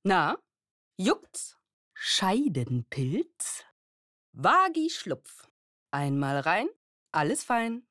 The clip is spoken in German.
Na, juckt's? Scheidenpilz? Vagi-Schlupf. Einmal rein, alles fein.